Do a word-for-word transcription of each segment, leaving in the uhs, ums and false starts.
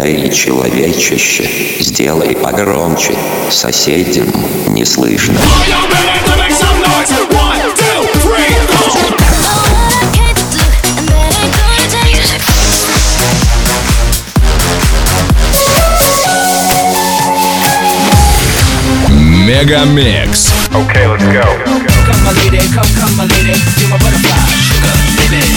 Эй, человечище, сделай погромче, соседям не слышно. Мегамикс. Okay, let's go. Come my lady, come, come my lady, you're my butterfly, sugar, baby.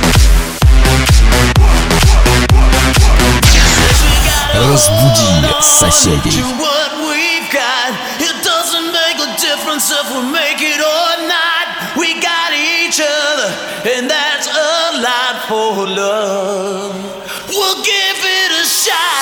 Разбуди соседей. It doesn't make a difference if we make it or not. We got each other, and that's a lot for love. We'll give it a shot.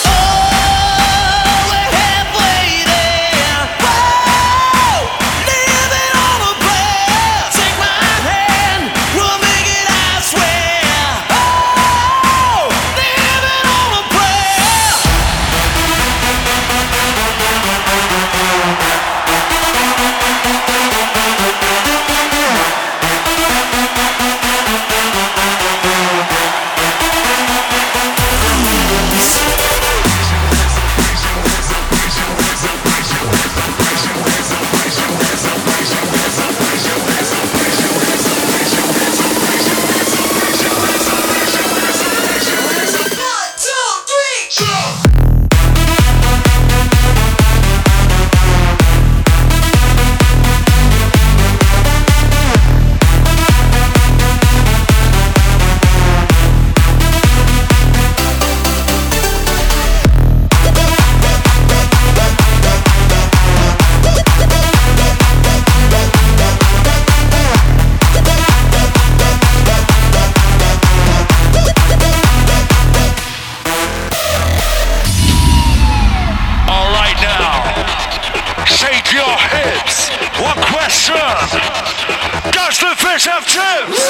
Does the fish have chips?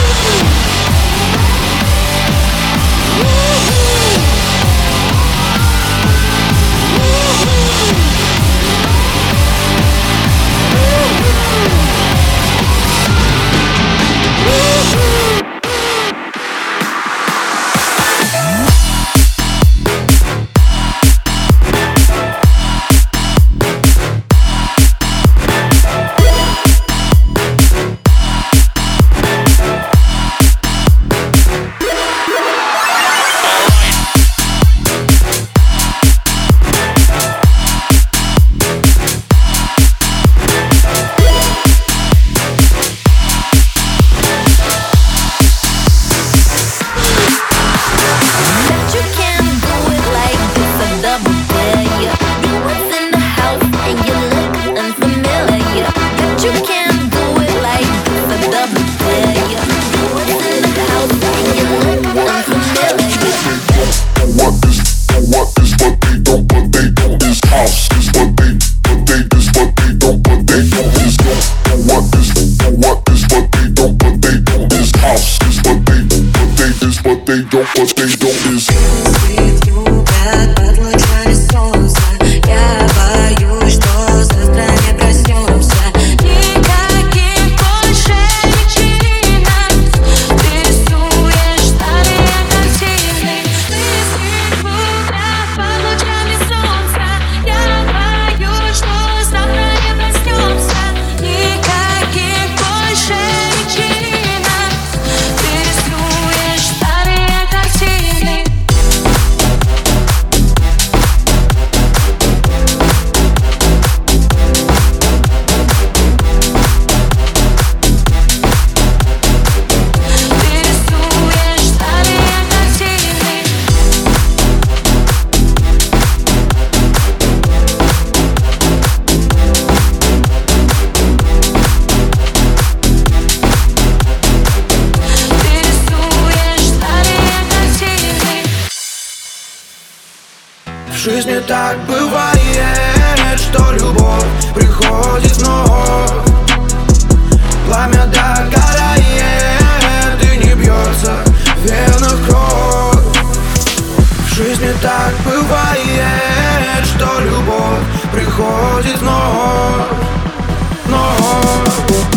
В жизни так бывает, что любовь приходит вновь. Пламя догорает и не бьется в венах кровь. В жизни так бывает, что любовь приходит вновь. Вновь,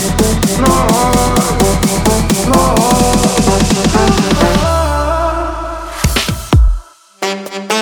вновь, вновь.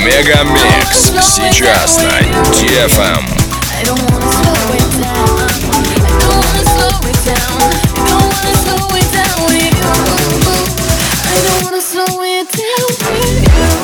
Мегамикс сейчас на ди эф эм. I don't wanna slow it down. I don't wanna slow it down. I don't wanna slow it down with you. I don't wanna slow it down with you.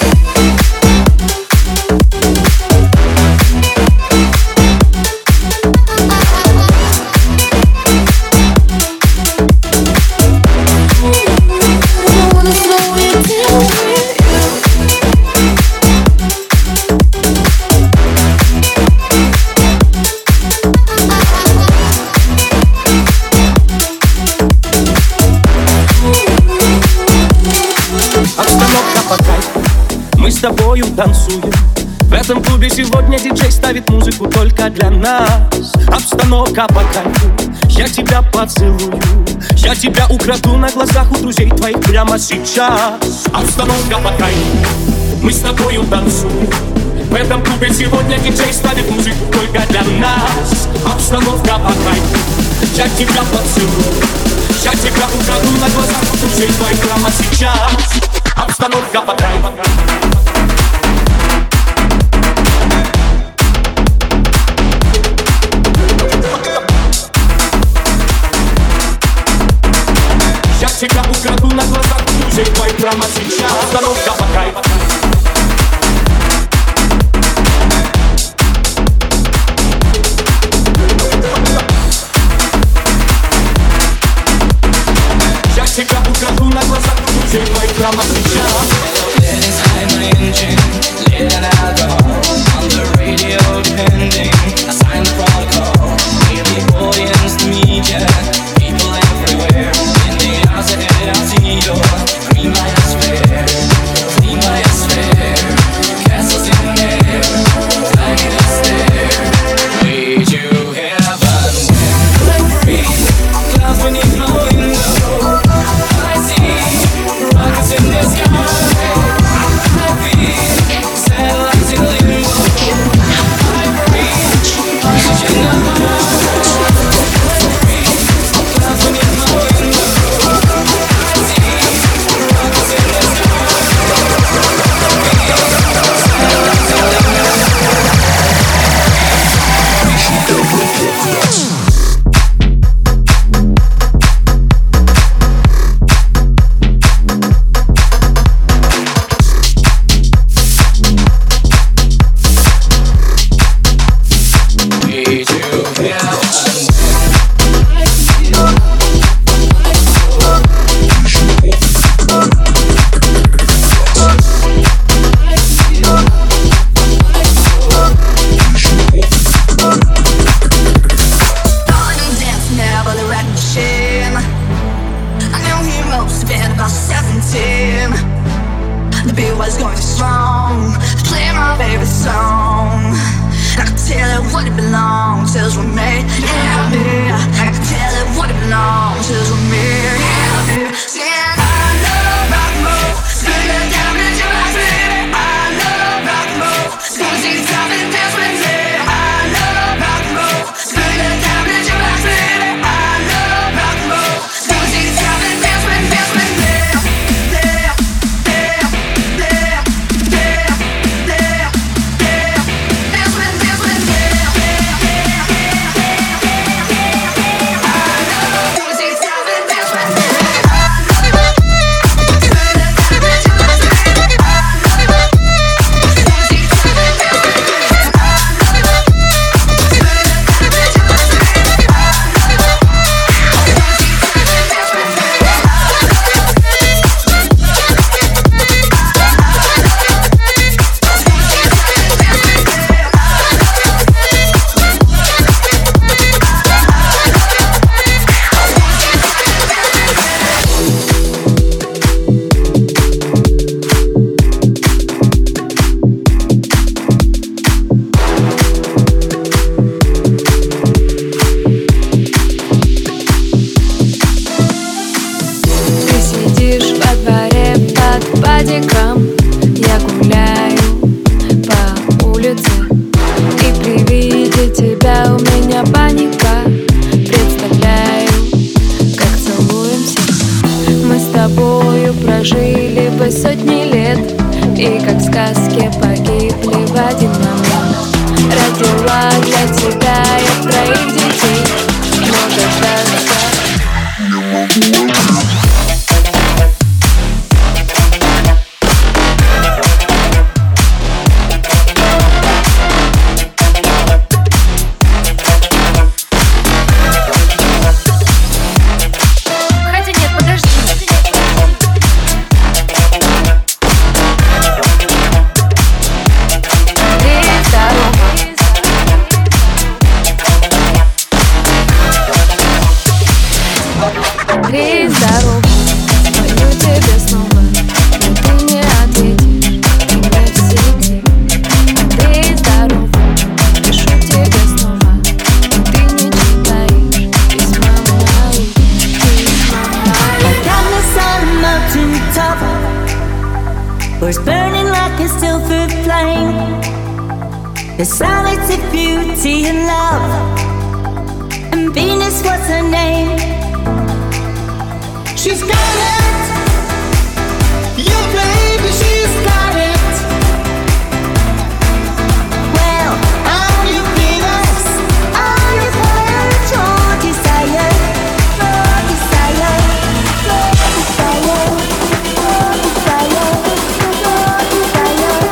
С тобою танцуем. В этом клубе сегодня диджей ставит музыку только для нас. Обстановка по кайфу, я тебя поцелую. Я тебя украду на глазах у друзей твоих прямо сейчас. Обстановка по кайфу, мы с тобою танцуем. В этом клубе сегодня диджей ставит музыку только для нас. Обстановка по кайфу, я тебя поцелую. Я тебя украду на глазах у друзей твоих прямо сейчас. Обстановка по кайфу. Я тебя украду на глазах у друзей твоих прямо сейчас. Обстановка по кайфу. Я тебя украду на глазах у друзей твоих прямо сейчас. Let's hide my engine, lit an alcohol. On the radio pending, I signed the protocol. Daily audience, the media, people everywhere. In the house ahead, I'll see your green light is fair, clean light is fair. Castles in there, flag in the stair. Way to heaven when we're free. Clouds beneath my window, I see rockets in the sky. Satellites in limbo, I breathe oxygen in my heart. Clouds beneath my window, I see rockets in the sky. Satellites in Dance with сказке погибли в один момент. Родила для тебя я троих детей, но дождаться. Три здоров, звоню тебе снова, но ты не ответишь, и не в сети. Три здоров, пишу тебе снова, но ты не читаешь письма мои, письма мои. I got us on a mountain top, where it's burning like a silver flame. The silence of beauty and love, and Venus was her name. She's got it, yeah baby, she's got it. Well, I'm your Venus, I'm your fire, your desire, your desire, your desire, your desire, your desire,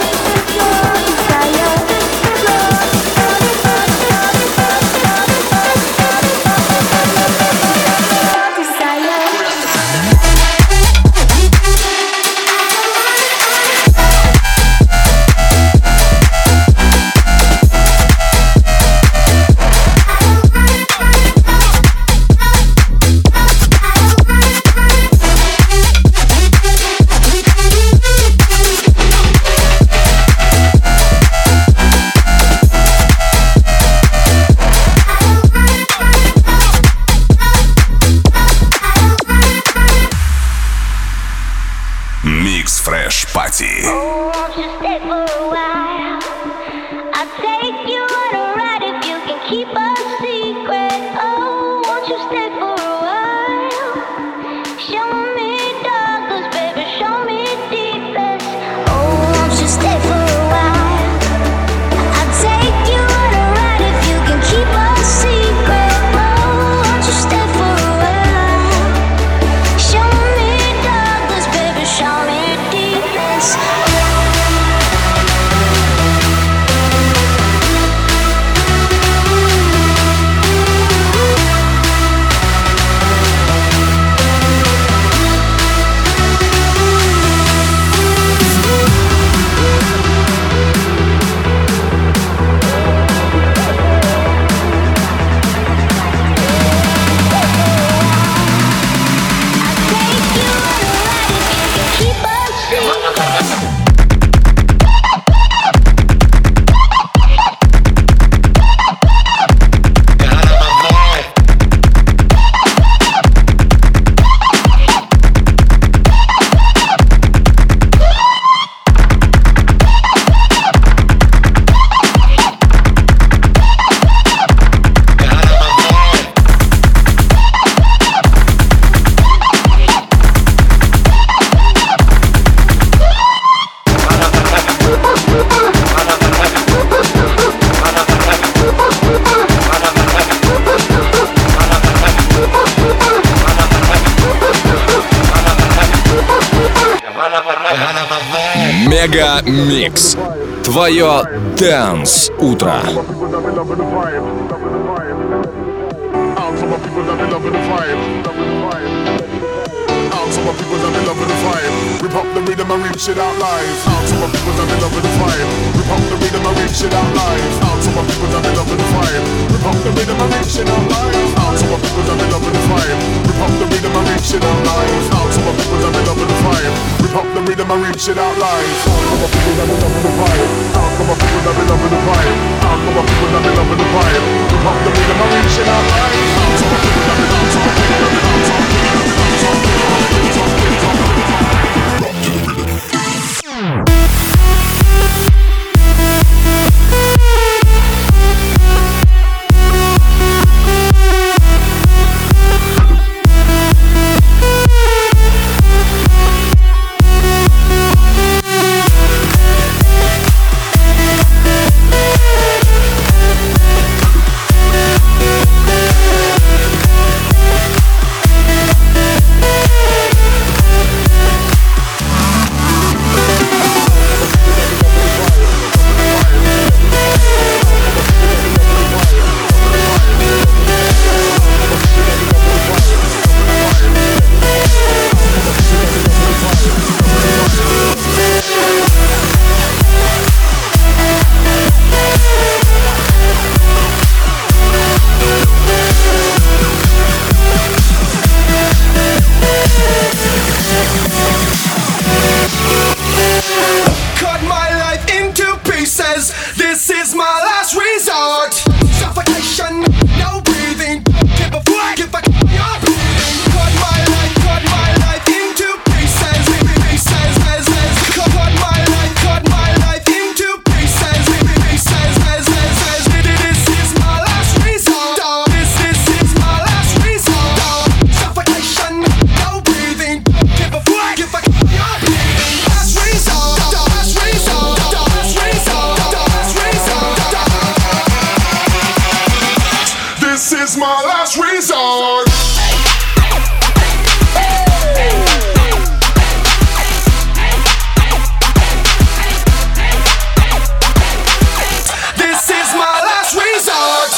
Mix Fresh Party. Oh, won't you stay for a while? I'll take you on a ride if you can keep a secret. Oh, won't you stay for a while? Show me darkness, baby, show me deepest. Oh, won't you stay for a while? I'll take you on a ride if you can keep a secret. Oh, won't you stay for a while? Show me darkness, baby, show me deepest. Мега Микс. Твое Dance утро. Some people that be loving the vibe. Rip up the rhythm and reach it out live. Out to my people that be loving the vibe. Rip up the rhythm and reach it out live. Out to my people that be loving the vibe. Rip up the rhythm and reach it out live. Out to my people that be loving the vibe. Rip up the rhythm and reach it out live. Out to my people that be loving the vibe. Rip up the rhythm and reach it out live. Out to my people that be loving the vibe. Out to my people that be loving the vibe. Out to my people that be loving the vibe. Rip up the rhythm and reach it out live. Out to my people that be out to my people that be out to my people that be out to my people. Cause this is my last resort. Suffocation, no breathing. Give a fuck if I you're breathing. Cut my life, cut my life into pieces, pieces, pieces. Cut my life, cut my life into pieces, pieces, pieces. This is my last resort. This, this is my last resort. Suffocation, no breathing. Give a fuck if I you're breathing. Last resort, last resort, last resort, last resort. This is my last resort. This is my last resort.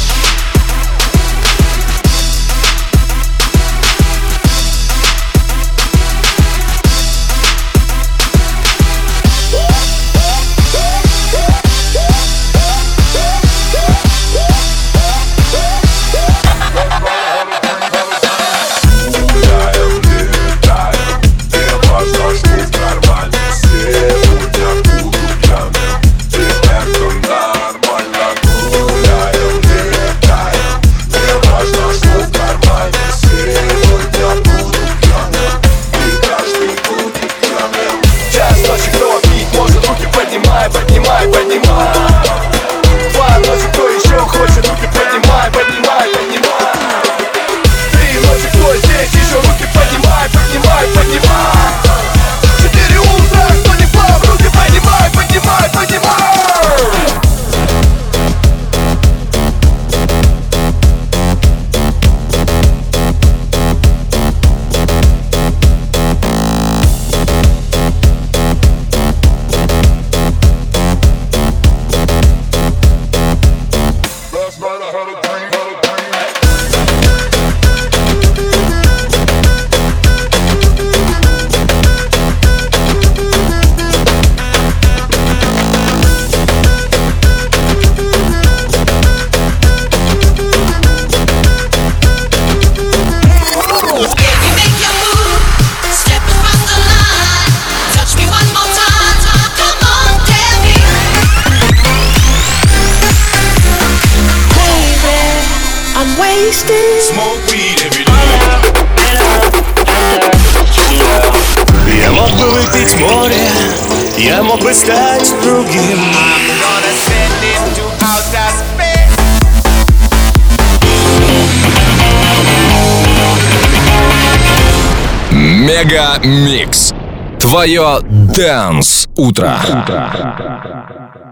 Smoke weed every day. Я мог бы выпить море, я мог бы стать другим. Мега Микс. Твое Dance утро.